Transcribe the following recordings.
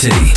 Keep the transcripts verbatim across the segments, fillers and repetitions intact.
Quality.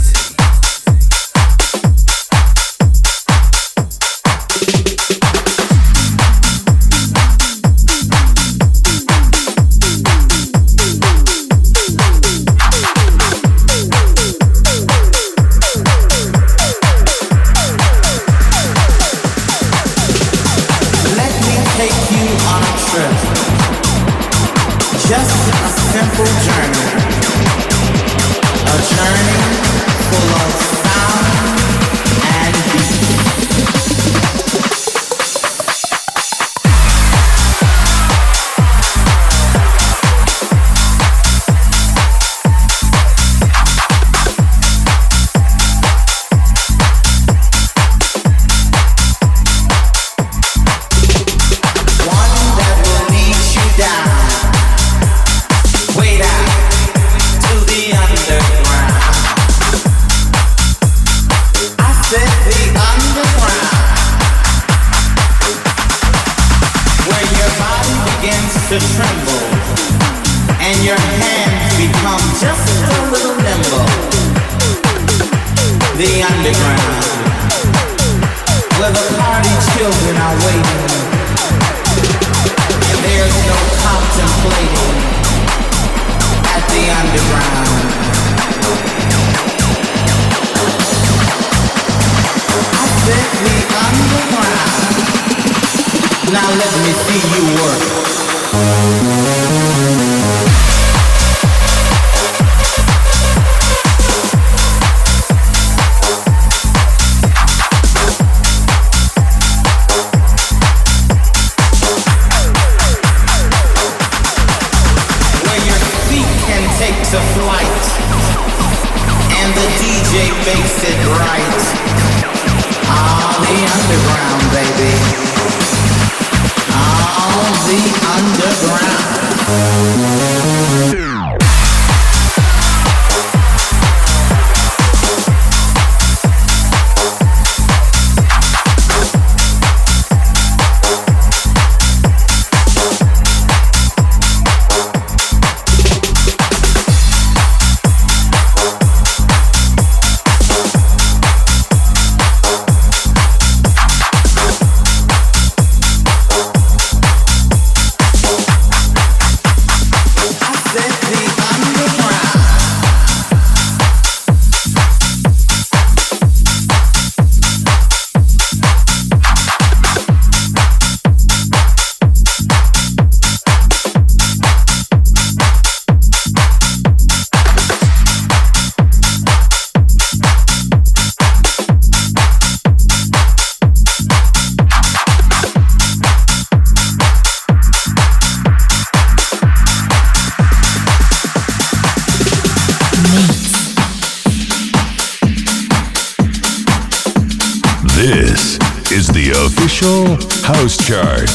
House Chart.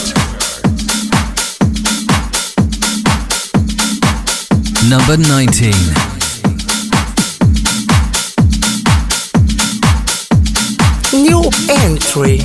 Number nineteen. New entry.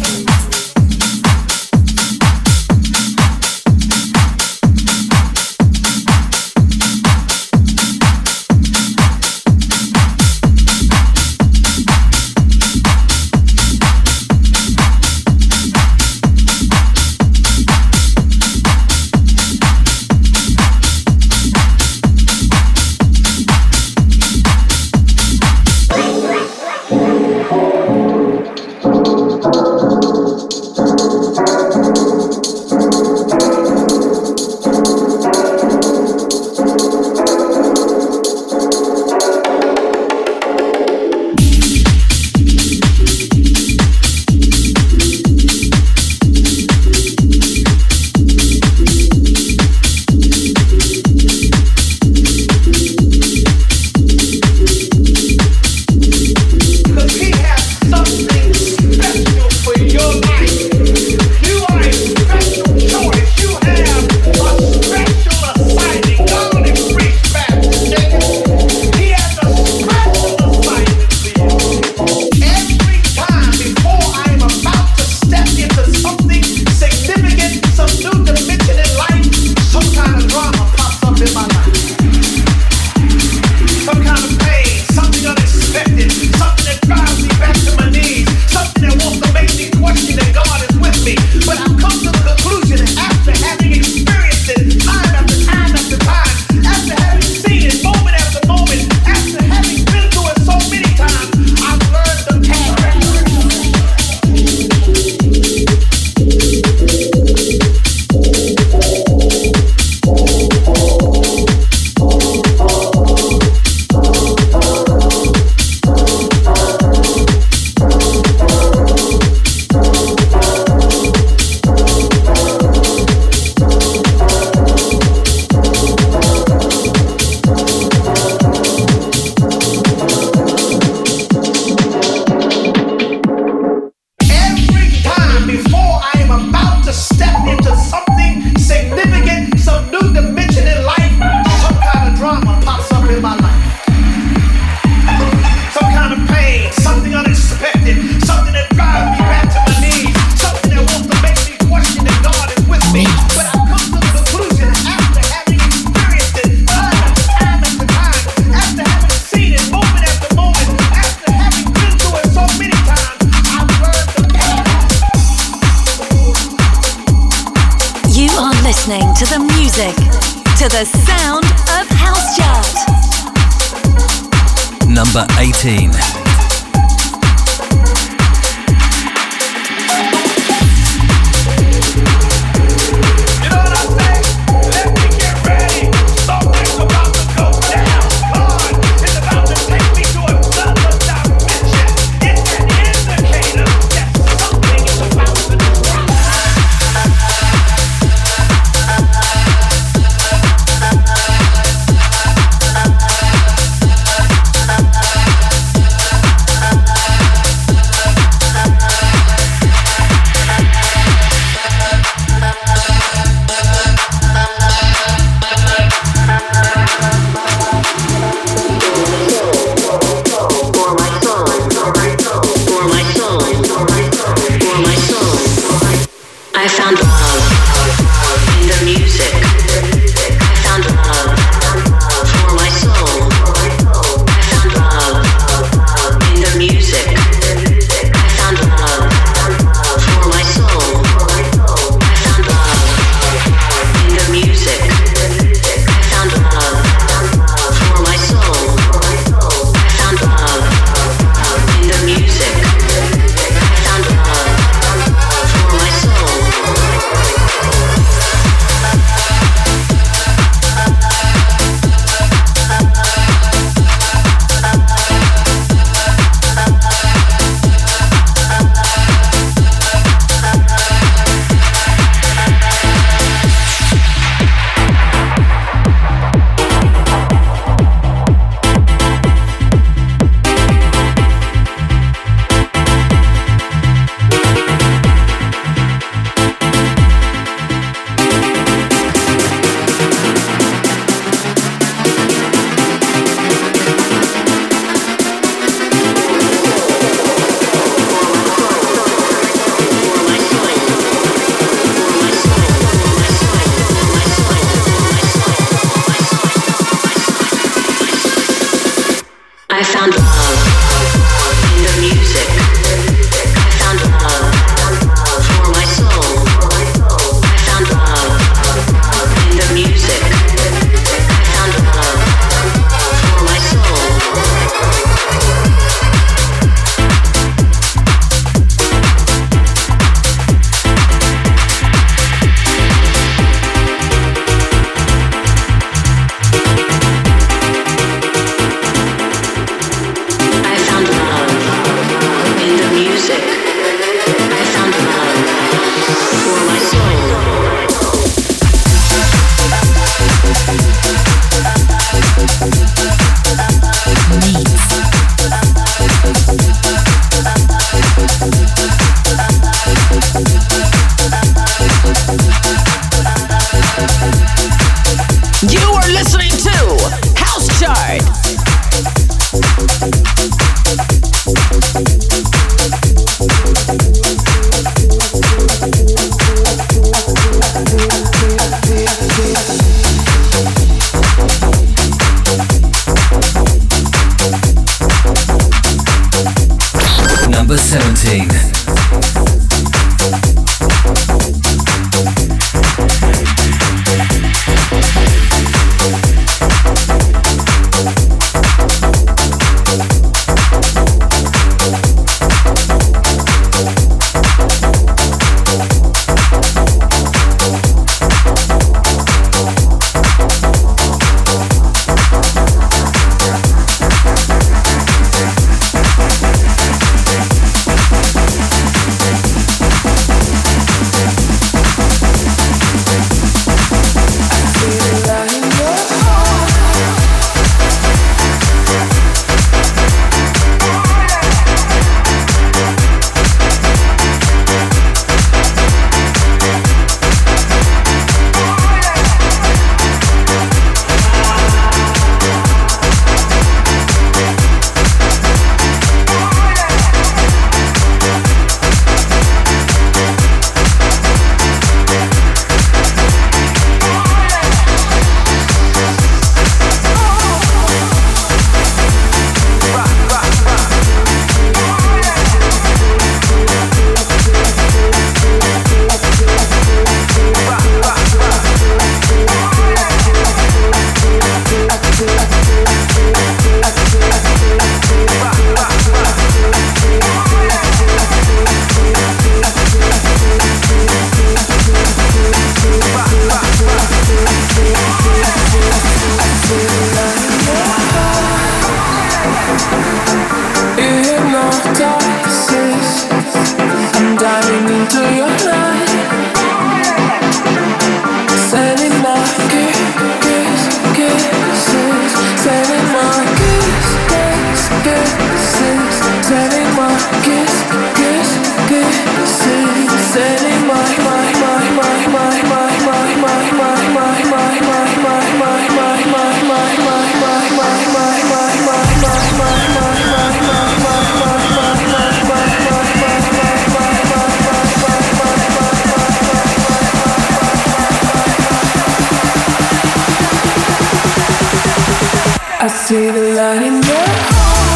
Thank you. to the music, to the sound of House Chart. Number eighteen. disguises. I'm diving into your life, sending my kiss, kiss, kisses, sending my kiss, kiss, kisses, sending my kiss, kiss, kisses, sending my my my my my my my my my my my my my my my my I see the light in your eyes.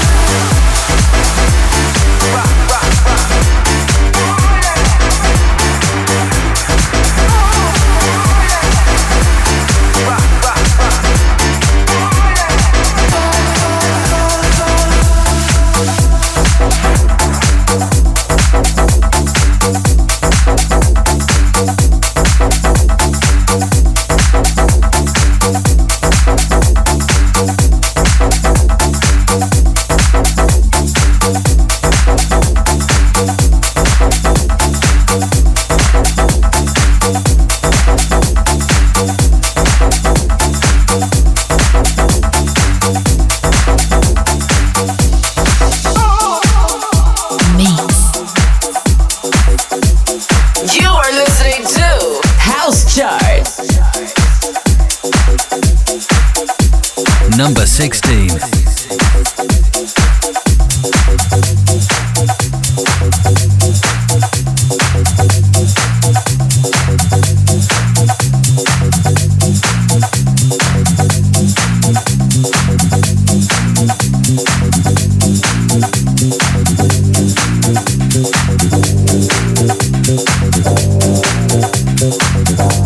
Number sixteen.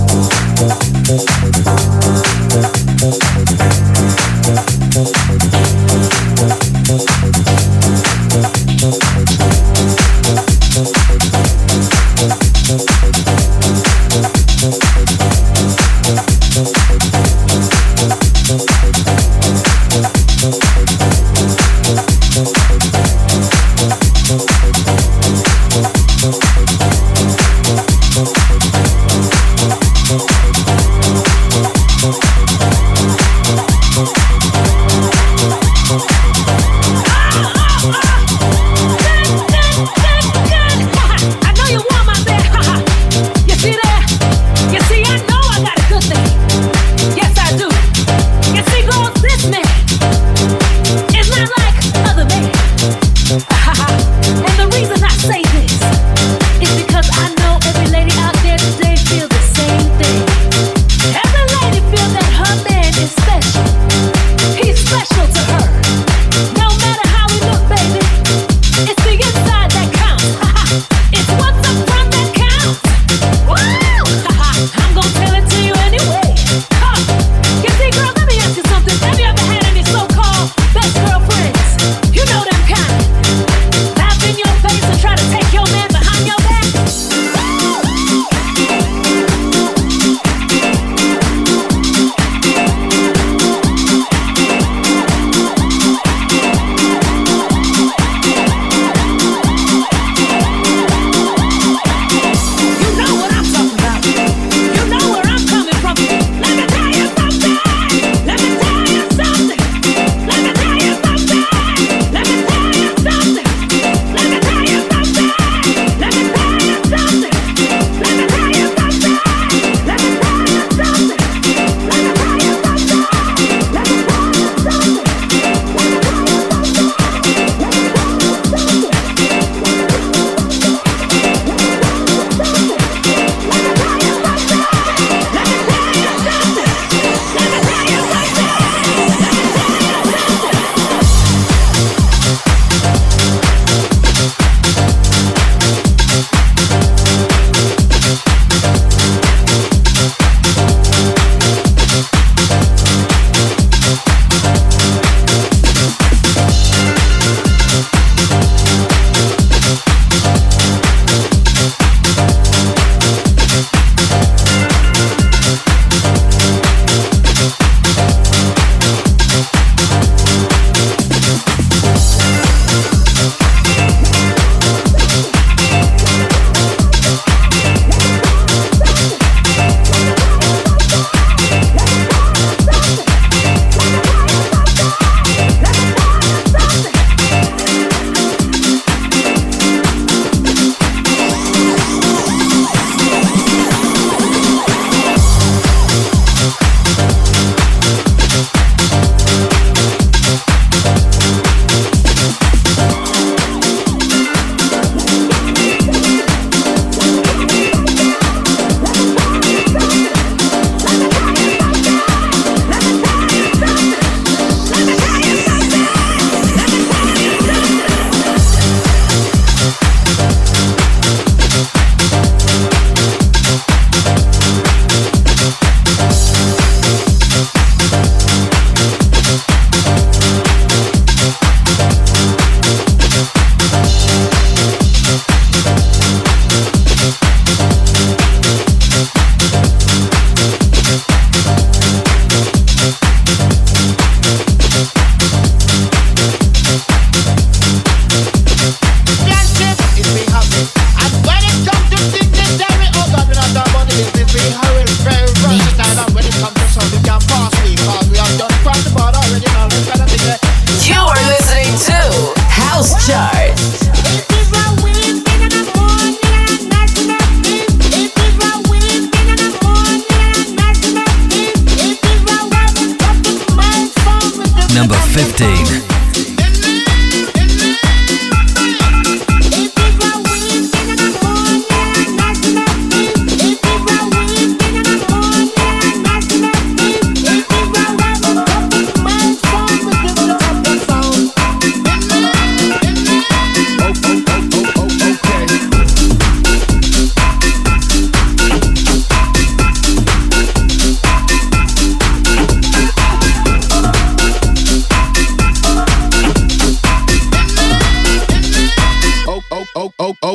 We'll be right back.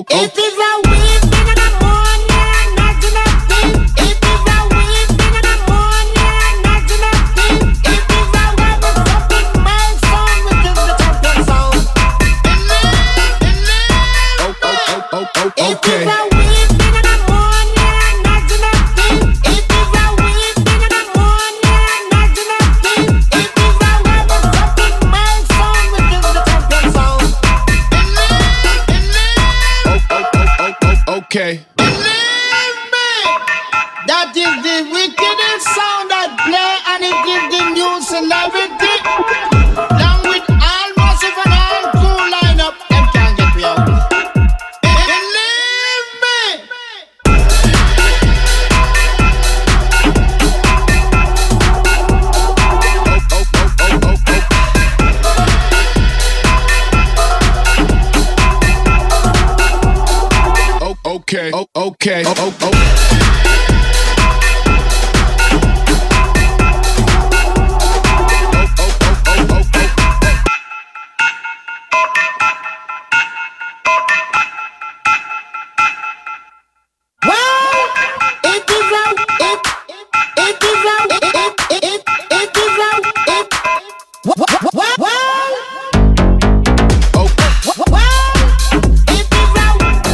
It is a weed thing in the morning, not in a thing. It is a weed thing in the morning, not in a thing. It is a motherfucking milestone, which is the champion sound. Oh, oh, oh, oh, oh, It okay. is a weed thing in the morning, not in a thing. It is a weed thing in the morning, not in a thing. It is a motherfucking milestone, which is the champion sound. Oh, oh, oh, oh, oh, okay. Believe me, that is the wickedest sound that play, and it gives the new celebrity. Along with all massive and all cool lineup, them can't get me out. Believe me. Oh, okay. Oh, okay. Oh, oh, oh. Well, it is a, it, it is a, it, it, it, it is a, it. Well, well, well, Oh, it is a,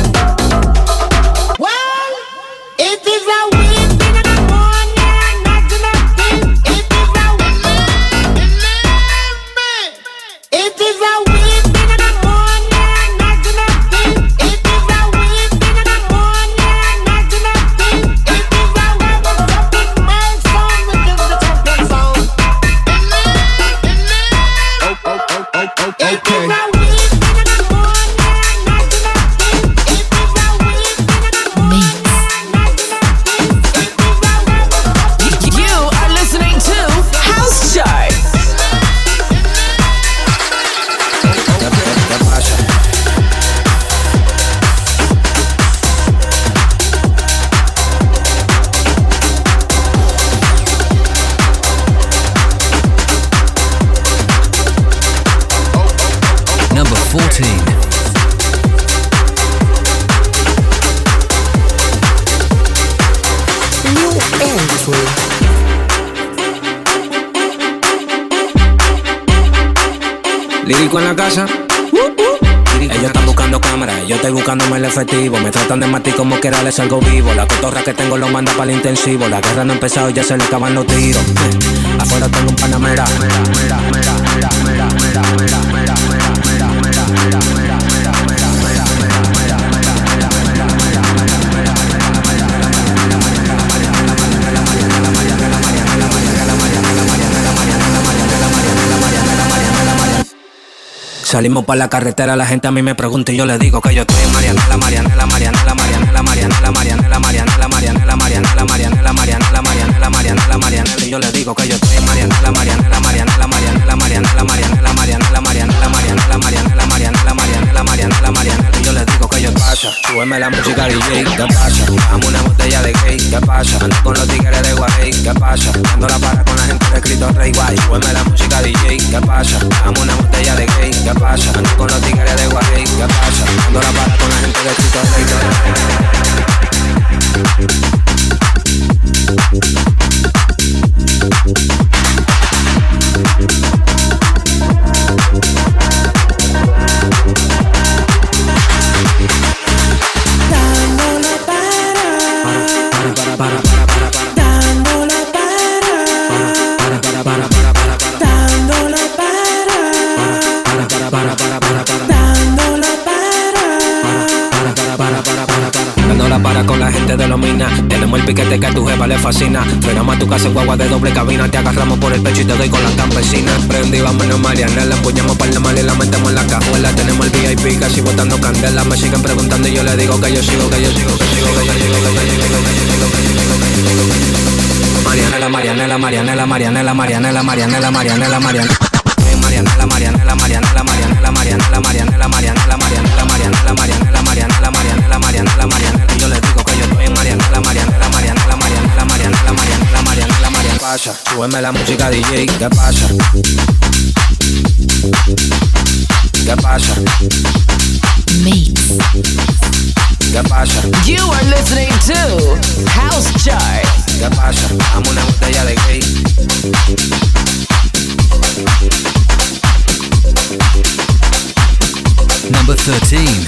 well, it is a weed thing in the morning, not in a thing. It is a, believe me. It is a weed thing in the morning, not in a thing. It is a weed thing in the morning, not in a thing. It is a motherfucking milestone, which is the champion sound. oh, oh, oh, oh, oh, It is okay. a weed thing in the morning, not in a thing. It is a weed thing in the morning, not in a thing. It is a motherfucking You are listening to House Chart. ¿Qué pasa? Number fourteen. New entry. Lírico en la casa. Ellos están buscando cámaras, yo estoy buscándome el efectivo. Me tratan de matar como quiera, les salgo vivo. La cotorra que tengo lo manda para el intensivo. La guerra no ha empezado y ya se le acaban los tiros. Afuera tengo un panamera. Salimos para la carretera, la gente a mí me pregunta y yo le digo que yo estoy en Marianela, Marianela, Marianela, Marianela, Marianela, Marianela, Marianela, Marianela, Marianela, Marianela, Marianela, Marianela, Marianela, Marianela, y yo le digo que yo estoy en Marianela, Marianela, Marianela, Marianela, Marianela, Marianela, Marianela, Marianela, Marianela, Marianela, Marianela, Marianela, Marianela, Marianela, y yo le digo que yo pasa, súbeme la música D J, ¿qué pasa? Dame una botella de gay, ¿qué pasa? Ando con los tigres de Guay, ¿qué pasa? Dando la para con la gente de Cristo Rey Guay, súbeme la música D J, ¿qué pasa? Dame una botella de gay, ¿qué pasa? Ando con los tigres de Guay, ¿qué pasa? Dando la para con la gente de Cristo Rey Dándole para, para, para, para, para, para, para. dándole para, Para, para, para, para, para, para. dándole para, Para, para, para, para, para, para. dándole para. Para, para, para, para, para, para. Dando la para con la gente de los minas. Tenemos el piquete que a tu jefa le fascina. Frenamos a tu casa en guagua de doble cabina. Te agarramos por el pecho y te doy con las campesinas. Prendí, vámonos Marianela. Empuñamos par de mal y la metemos en la cajuela. Tenemos el V I P casi botando candela. Me siguen preguntando y yo le digo que yo sigo, que yo sigo, que sigo, que yo sigo, que yo sigo, que yo sigo, que yo sigo, que yo sigo, que yo sigo, que yo sigo. Marianela, Marianela, Marianela, Marianela, Marianela, Marianela, Marianela, Marianela. Marianela, Marianela, Marianela, Marianela, Marianela, Marianela, Marianela, Marianela, Marianela, Marianela, Marianela, Marianela, Marianela, Marianela. Y yo le digo que yo estoy en Marianela, Marianela, Marianela, Marianela, Marianela, Marianela, Marianela, Marianela. Pasa, súbeme la música D J, ¿qué pasa? ¿Qué pasa? Mix. pasa? You are listening to House Chart. ¿Qué pasa? Dame una botella de gay. Number thirteen.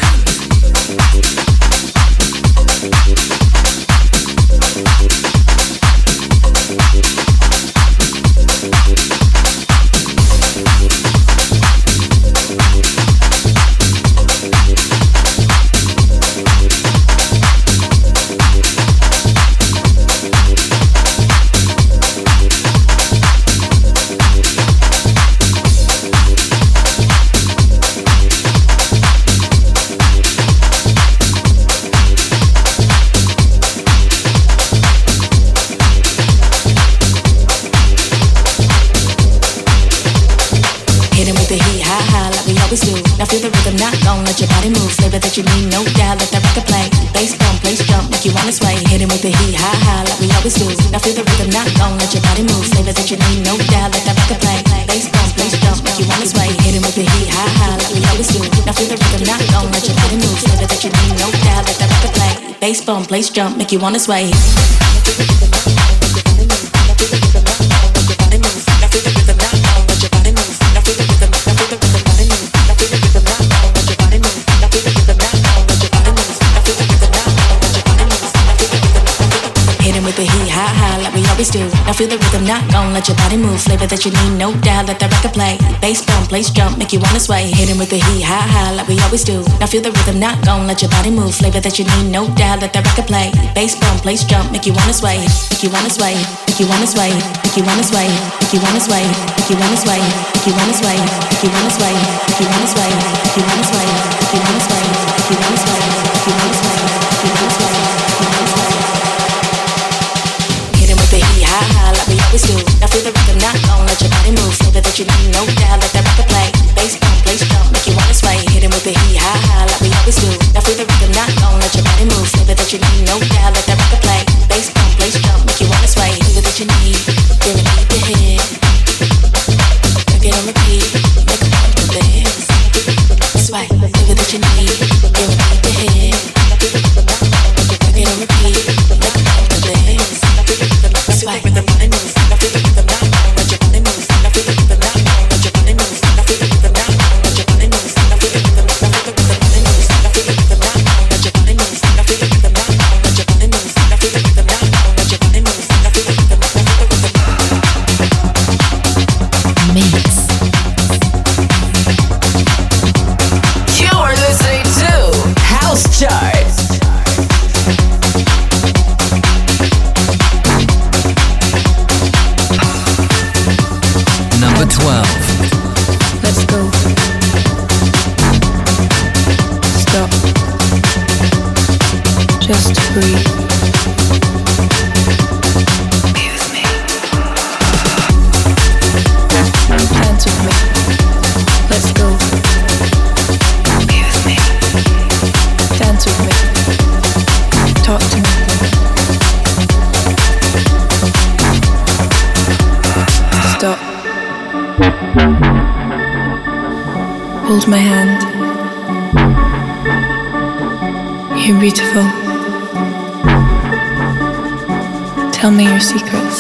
Now feel the rhythm, not gon' let your body move. Flavor that you need, no doubt. Let that record play. Bass bump, place jump, make you wanna sway. Hit it with the heat, high, high, like we always do. Now feel the rhythm, not gon' let your body move. Flavor that you need, no doubt. Let that record play. Bass bump, place jump, make you wanna sway. Hit it with the heat, high, high, like we always do. Now feel the rhythm, not gon' let your body move. Flavor that you need, no doubt. Let that record play. Bass bump, place jump, make you wanna sway. Do. Now feel the rhythm, not gon' let your body move. Flavor that you need, no doubt. Let that record play. Bass bump, place jump, make you wanna sway. Hit him with the heat, high, high, like we always do. Now feel the rhythm, not gon' let your body move. Flavor that you need, no doubt. Let that record play. Bass bump, place jump, make you wanna sway. Make you wanna sway. Make you wanna sway. Make you wanna sway. Make you wanna sway. Make you wanna sway. Make you wanna sway. Make you wanna sway. Make you wanna sway. Make you wanna sway. Make you wanna sway. Make you wanna sway. Make you wanna sway. Make you wanna sway. High, high, like we always do. Now feel the rhythm, not gon' let your body move. Flavor that you need, no doubt. Let that record play. Bass bump, place jump, make you wanna sway. Hit him with the heat, high, high, like we always do. Now feel the rhythm, not gon' let your body move. Flavor that you need, no doubt. Let that record play. Bass bump, place jump, make you wanna sway. Flavor that you need, feel it deep your head. Work it on repeat, make a point of this. Sway, flavor that you need, feel it deep your head. Work it on repeat, make a point of this. Sway with the body move. Now feel the rhythm, not gon' let your body move. Now feel the rhythm, not gon' let your body move. Now feel the rhythm, not gon' let your body move. Now feel the rhythm, now feel the rhythm, body move. Now feel the rhythm, not gon' let your body move. Now feel the rhythm, not gon' let your body move. Now feel the rhythm, not gon' let your body move. Now feel the rhythm, now feel the rhythm. Mix. You are listening to House Chart. Number twelve. Let's go. Stop. Just breathe. Be with me. Dance with me. Let's go. Be with me. Dance with me. Talk to me. Stop. Hold my hand. You're beautiful. Tell me your secrets.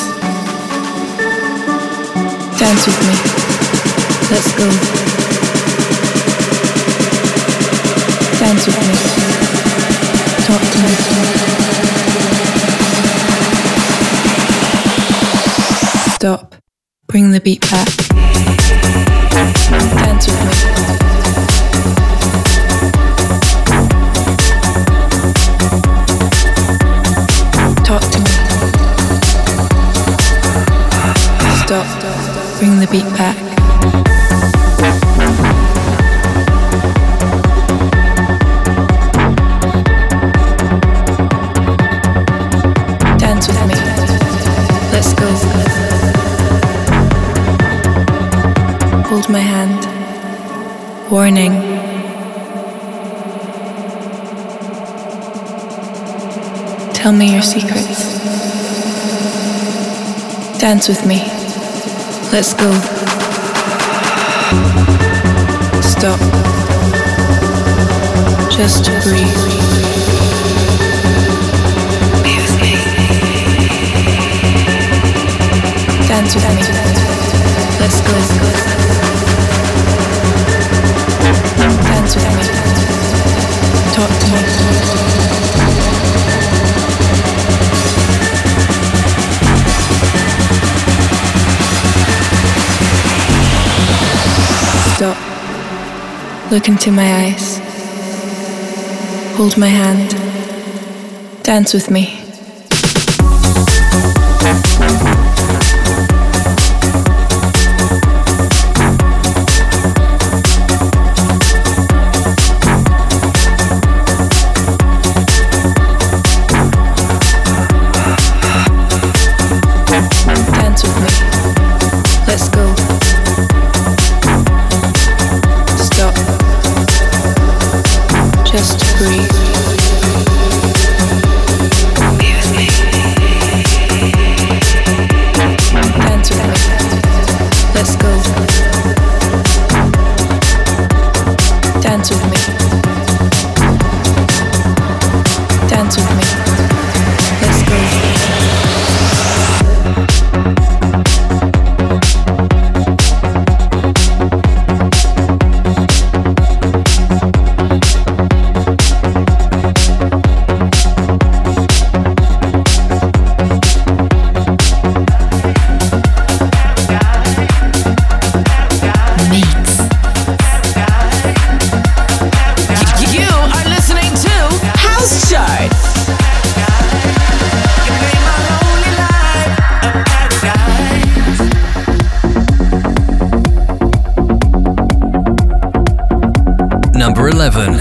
Dance with me. Let's go. Dance with me. Talk to me. Stop. Bring the beat back. Dance with me. Talk to me. Stop. Bring the beat back. Dance with me. Let's go. Hold my hand. Warning. Tell me your secrets. Dance with me. Let's go. Stop. Just breathe. Dance with me. Let's go. Dance with me. Talk to me. Stop. Look into my eyes. Hold my hand. Dance with me. Dance with me. Let's go. Stop. Just breathe. Dance with me. Let's go. Dance with me. Dance with me. Let's go. Number eleven.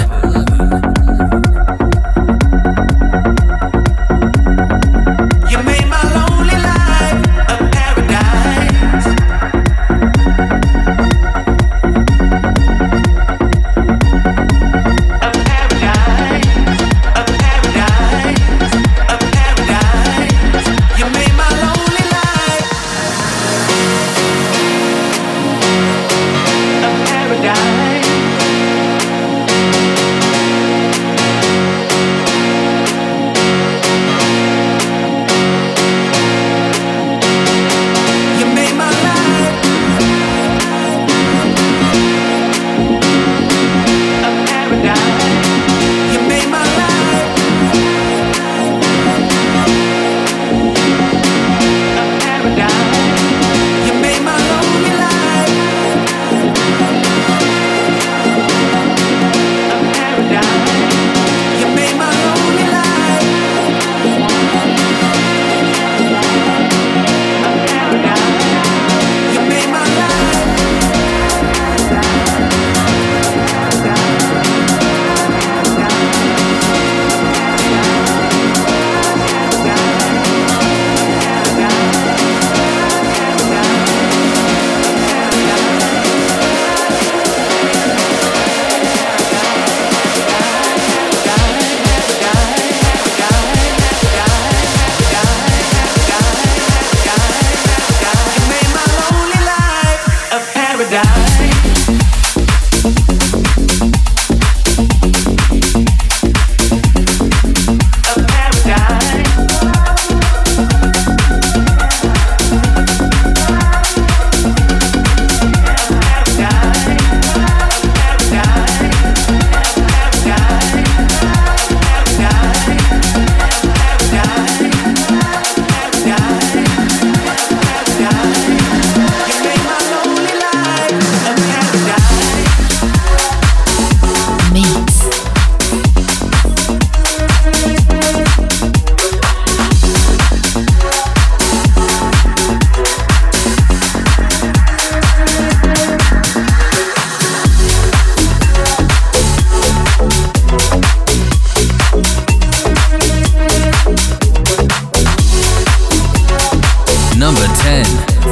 Number ten.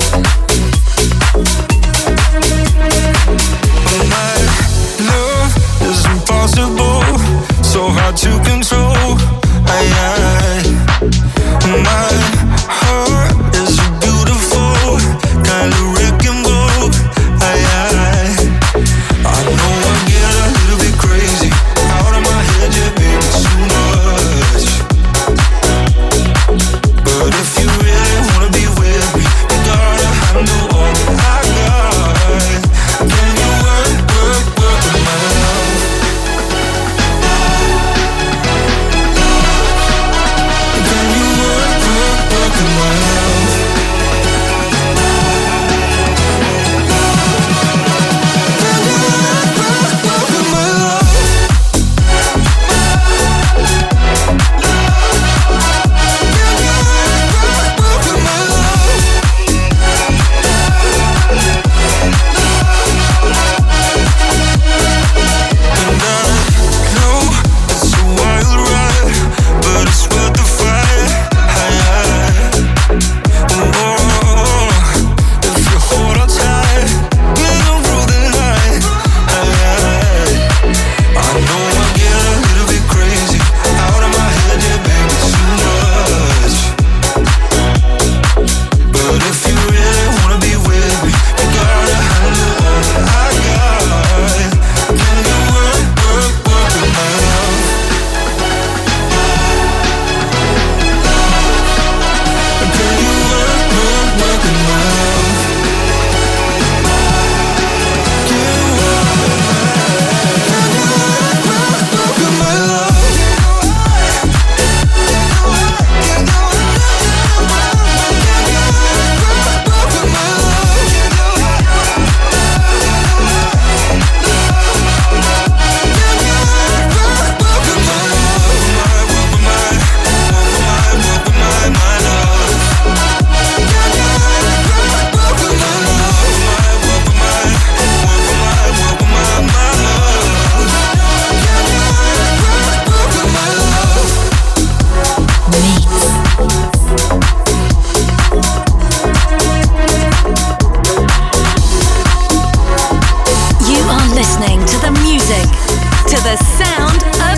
So hard to control. I, I, my heart is a beautiful kind of wreck and roll. I, I, I know I get a little bit crazy out of my head, yeah, baby, too much. But if you really wanna be with me, you gotta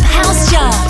House Chart.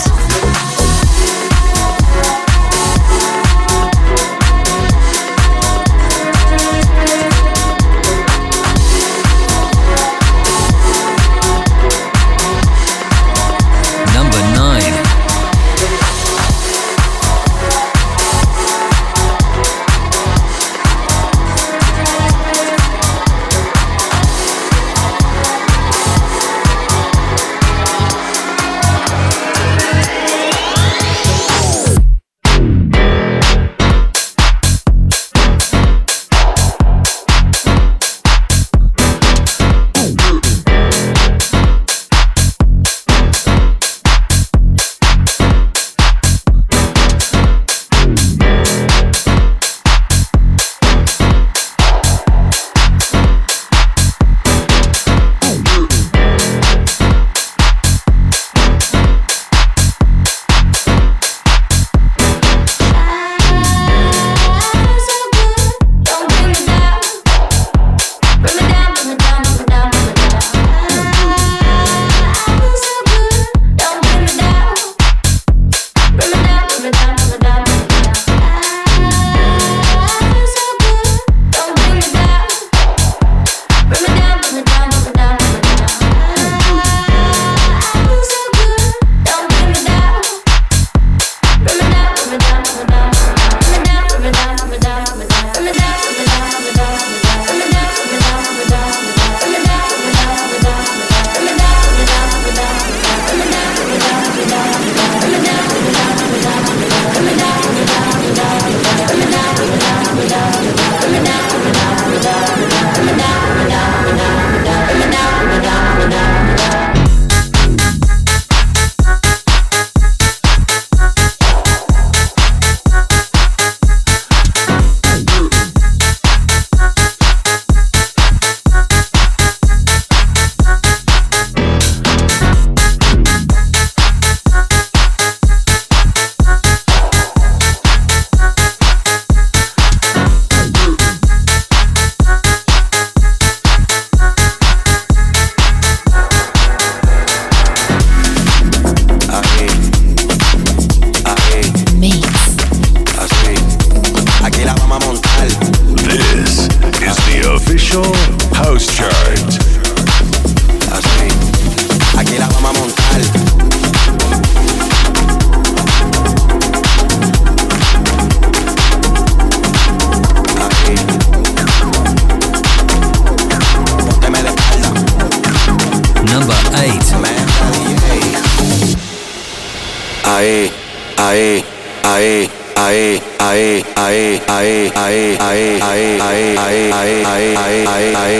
ahí, ahí, ahí, ahí, ahí, ahí, ahí, ahí, ahí, ahí, ahí, ahí, ahí, ahí, ahí,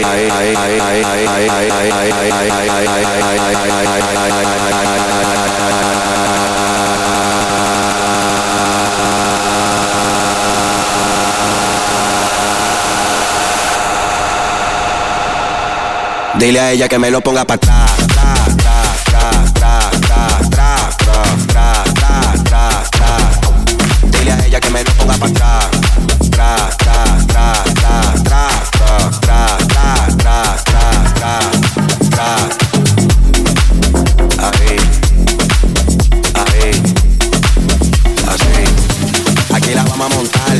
dile a ella que me lo ponga para atrás. Dile a ella que me lo ponga para atrás. Tra, tra, tra, tra, tra, tra, tra, tra, tra, tra, tra. Ahí, ahí, así. Aquí la vamos a montar.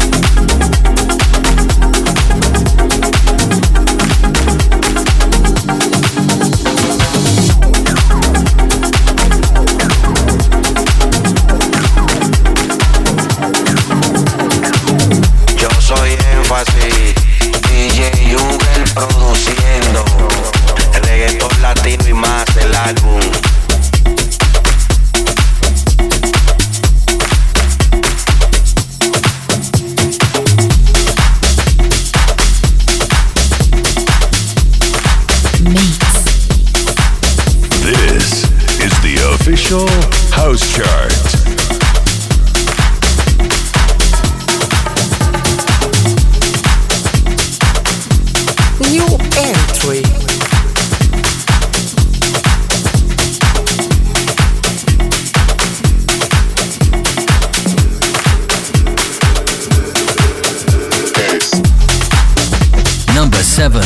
D J Ugel produciendo el reggaetón latino y más el álbum. Mix. This is the official House Chart. New entry. Number seven.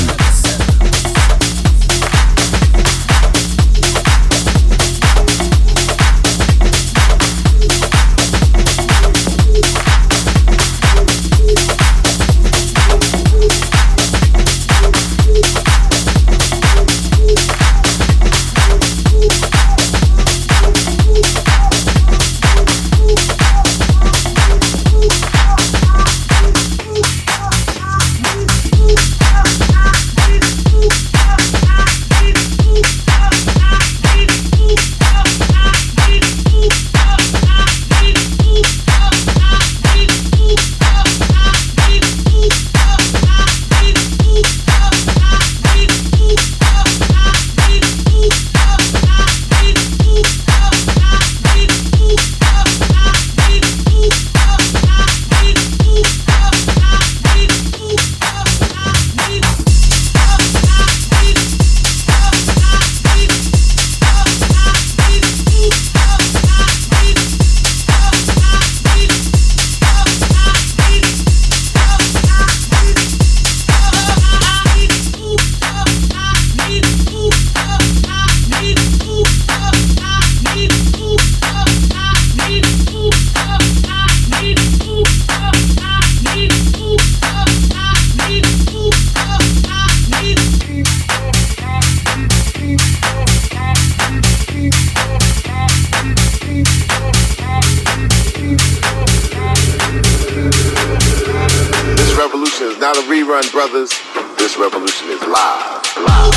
not a rerun, brothers. This revolution is live, live.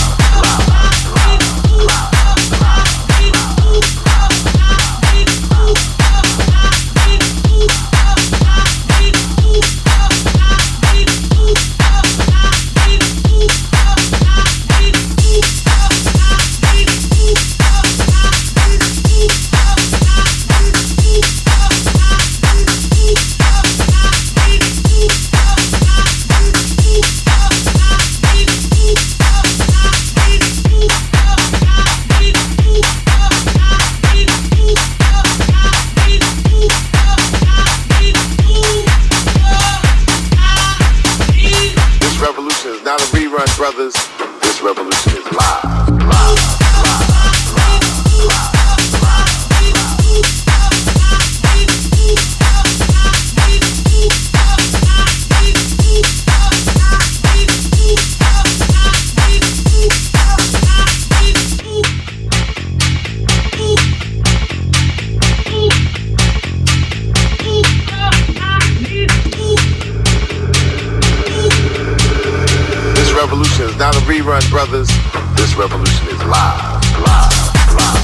Not a rerun, brothers. This revolution is live, live, live, live, revolution is not a rerun, brothers. This revolution is live, live, live.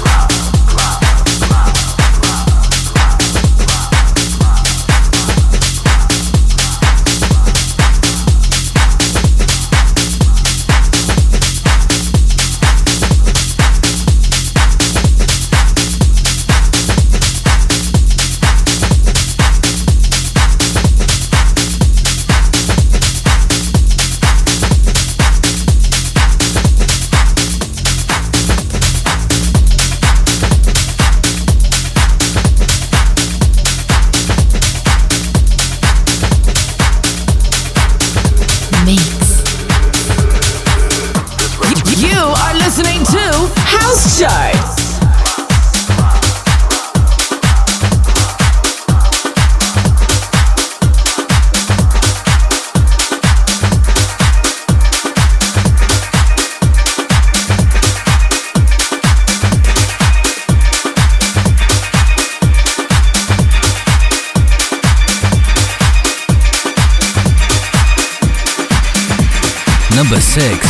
Listening to House Charts. Number six.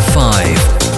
five.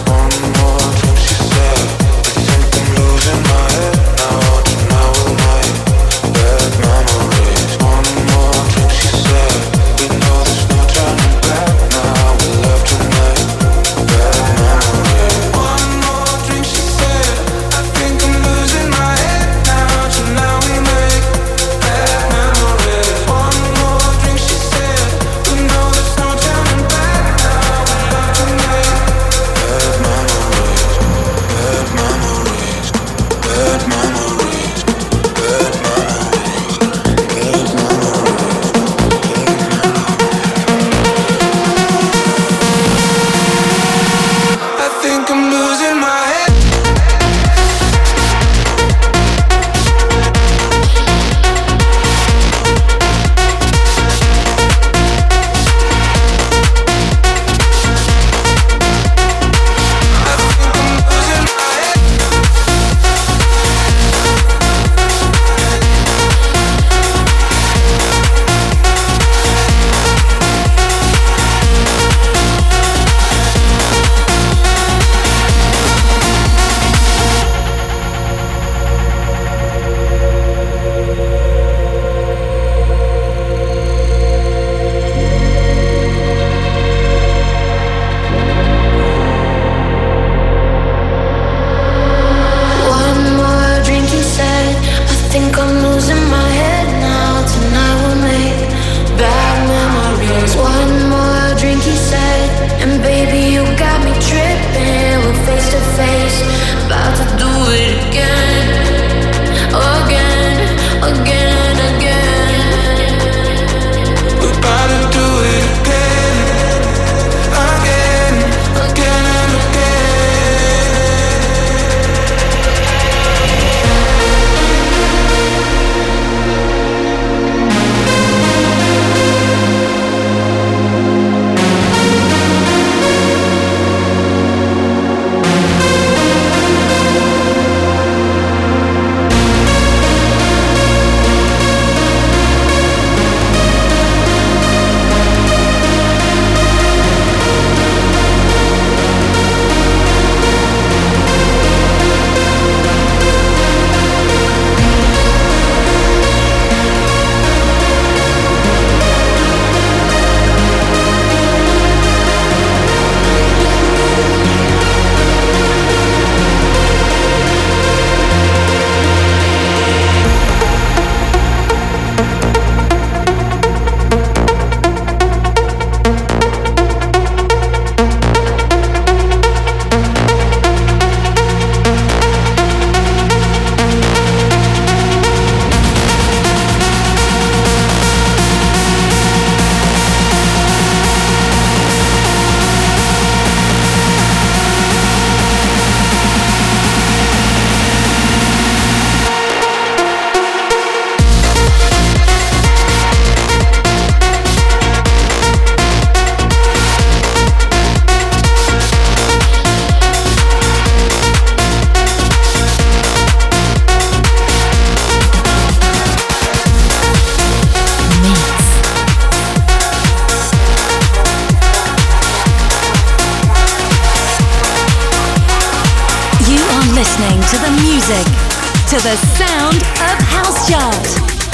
listening to the music, to the sound of House Chart.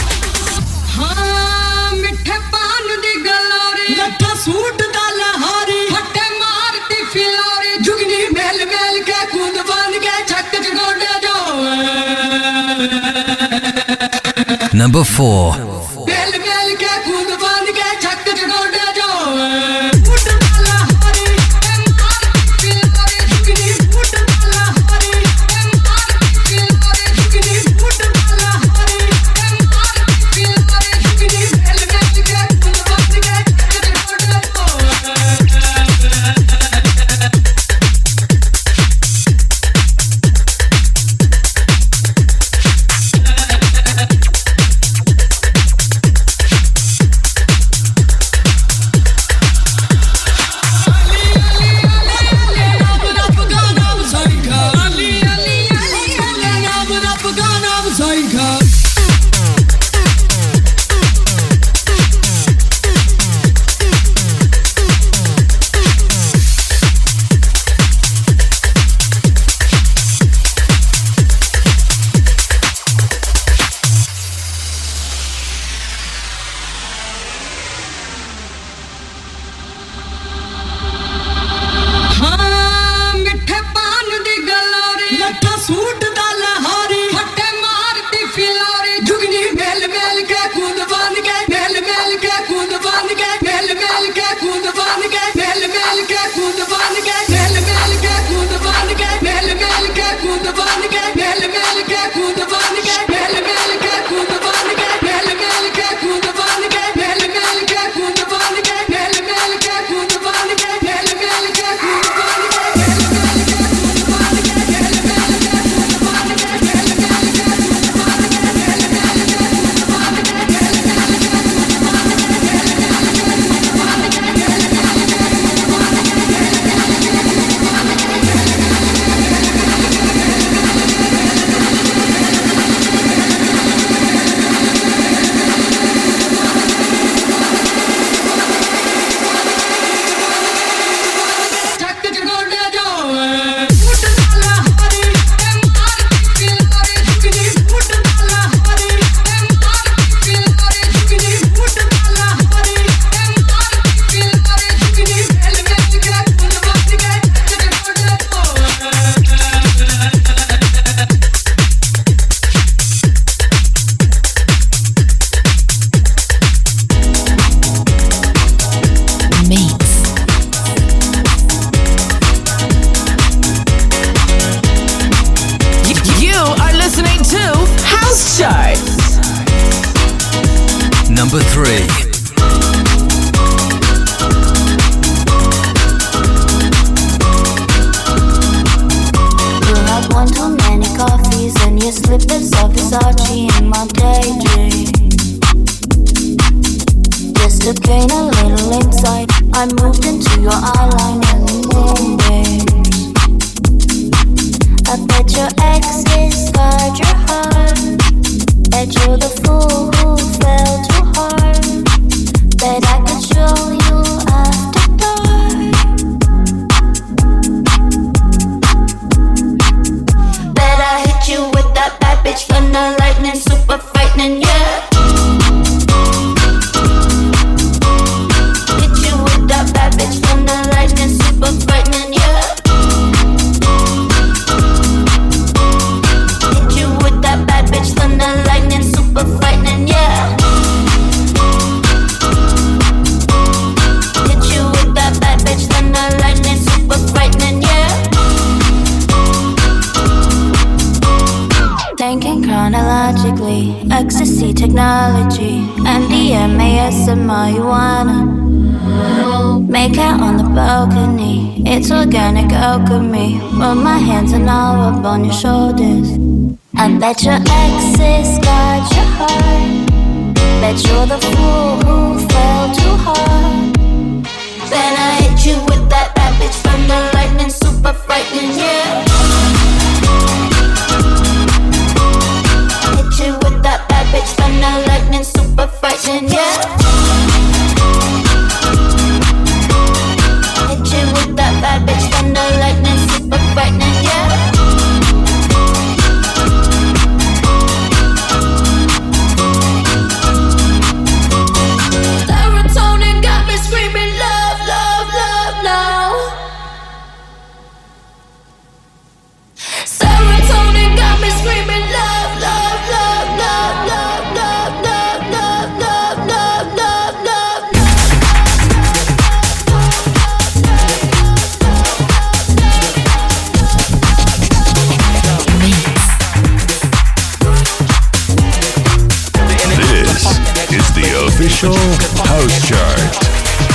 हाँ मिठे पान दी गलोरी लट्ठा सूट दा लहारी फटे मारती फिलोरी जुगनी मेल मेल के कूद बन के छक जगोड़े जो Number four. मेल मेल के कूद बन के छक जगोड़े जो Number three. One too many coffees and your slippers of Versace in my daydream. Just to gain a little insight, I moved into your eyeline and the moonbeams. I bet your exes scarred your heart. Bet you're the fool who fell too hard. Bet I could show you after dark. Bet I hit you with that bad bitch thunder lightning, super frightening, yeah. Hit you with that bad bitch thunder lightning, super frightening, yeah. Hit you with that bad bitch thunder lightning, super frightening, yeah. Hit you with that bad bitch thunder lightning, super frightening, yeah. Thinking chronologically, ecstasy technology, M D M A S and marijuana. Make out on the balcony, it's organic alchemy. Rub my hands and I'll rub on your shoulders. I bet your exes got your heart. Bet you're the fool who fell too hard. Then I hit you with that bad bitch thunder lightning, super frightening, yeah. Hit you with that bad bitch thunder lightning, super frightening, yeah. Hit you with that bad bitch thunder lightning, super frightening, yeah. Serotonin got me screaming love, love, love now. Serotonin got me screaming love, love, love, love, love, love, love, love, love, love, love, love. This is the official House Chart.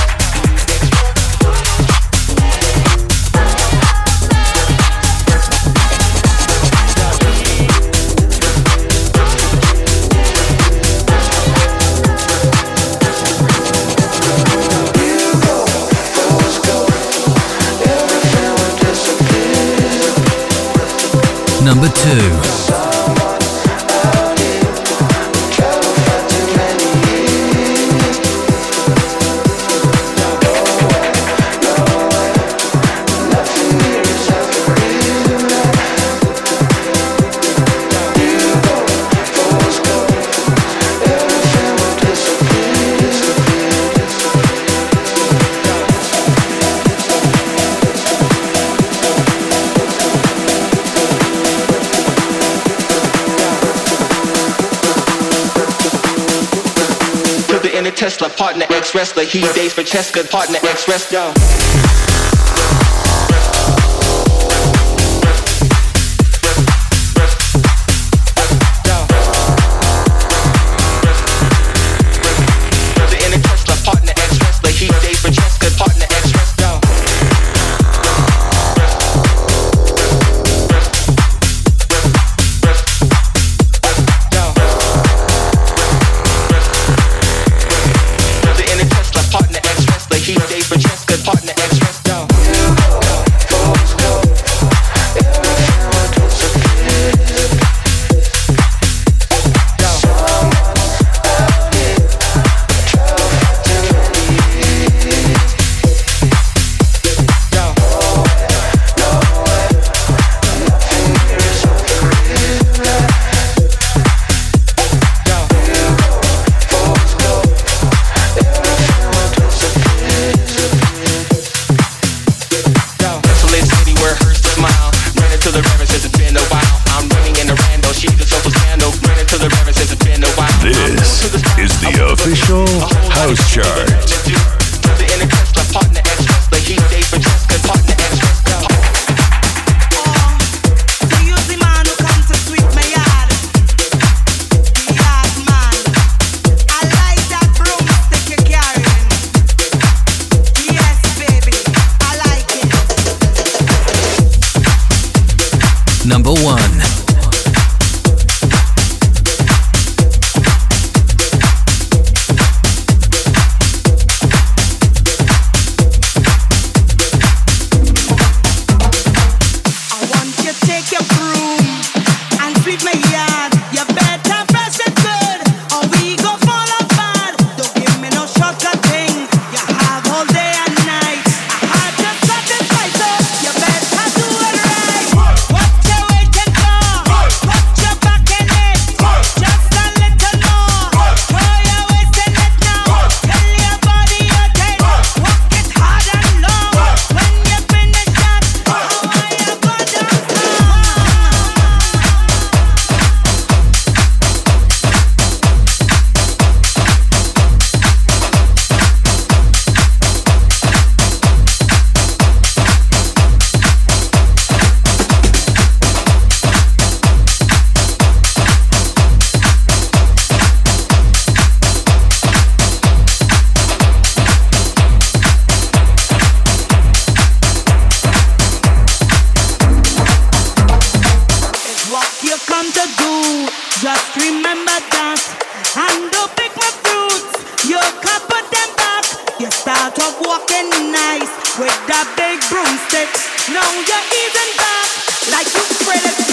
Number two. Tesla, partner, ex-wrestler. He dates for Cheska, partner, ex-wrestler. House Chart. I like that number one. With that big broomstick, now you're easing back like you spread it.